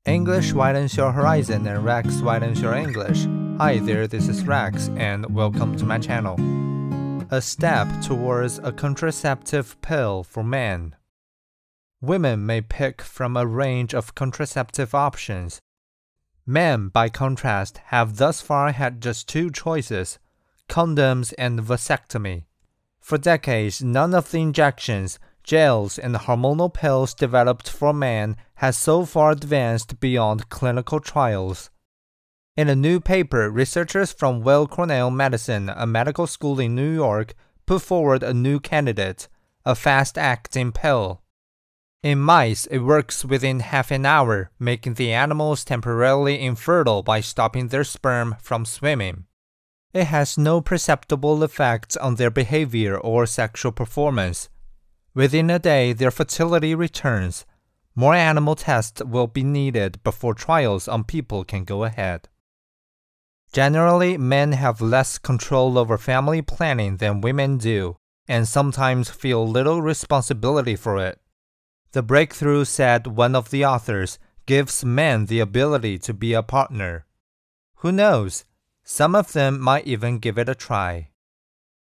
English widens your horizon and Rex widens your English. Hi there, this is Rex and welcome to my channel. A step towards a contraceptive pill for men. Women may pick from a range of contraceptive options. Men, by contrast, have thus far had just two choices: condoms and vasectomy. For decades, none of the injections, gels, and hormonal pills developed for men has so far advanced beyond clinical trials. In a new paper, researchers from Weill Cornell Medicine, a medical school in New York, put forward a new candidate, a fast-acting pill. In mice, it works within half an hour, making the animals temporarily infertile by stopping their sperm from swimming. It has no perceptible effects on their behavior or sexual performance. Within a day, their fertility returns. More animal tests will be needed before trials on people can go ahead. Generally, men have less control over family planning than women do, and sometimes feel little responsibility for it. The breakthrough, said one of the authors, gives men the ability to be a partner. Who knows? Some of them might even give it a try.